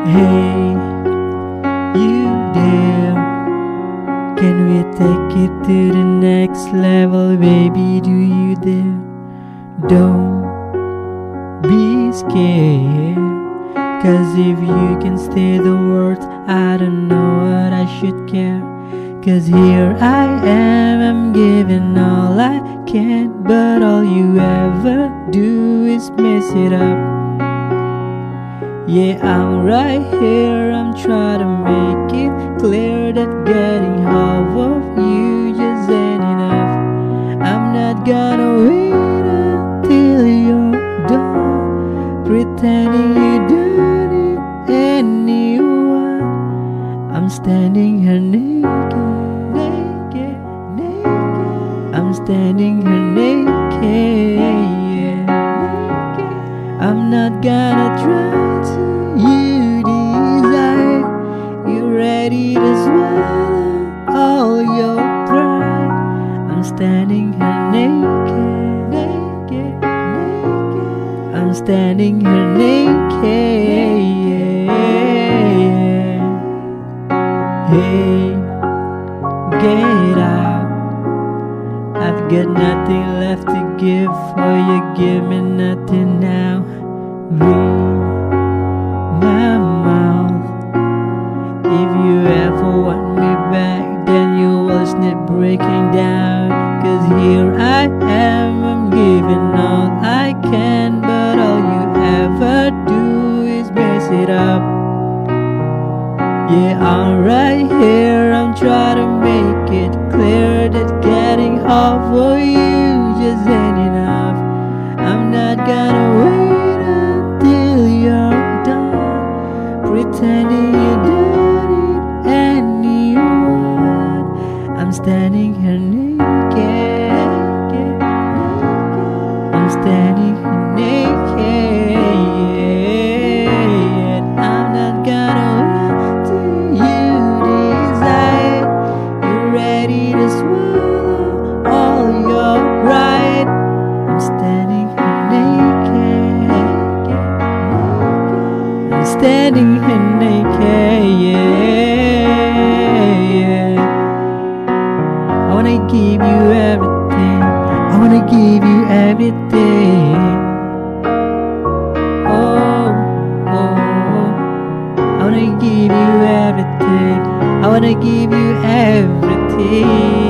Hey, you there? Can we take it to the next level, baby? Do you dare? Don't be scared, 'cause if you can say the words, I don't know what I should care. 'Cause here I am, I'm giving all I can, but all you ever do is mess it up. Yeah, I'm right here, I'm trying to make it clear that getting half of you just ain't enough. I'm not gonna wait until you're done pretending you don't need anyone. I'm standing here naked, naked, naked. I'm standing here naked, yeah. I'm not gonna try to you desire. You ready to swallow all your pride? I'm standing here naked, naked, naked. I'm standing here naked, yeah. Hey, get out. I've got nothing left to give, for you give me nothing now. Read my mouth. If you ever want me back, then you will snap breaking down. 'Cause here I am, I'm giving all I can, but all you ever do is mess it up. Yeah, I'm right here, I'm trying to make it clear that getting half of you just ain't enough. I'm not gonna wait until you're done pretending you don't need anyone. I'm standing here naked, I'm standing here naked, yeah. I'm not gonna wait till you desire. You're ready to swallow all your pride. I'm standing here naked, I'm standing here naked, yeah. I wanna give you everything, I wanna give you everything. Oh, oh, I wanna give you everything, I wanna give you everything.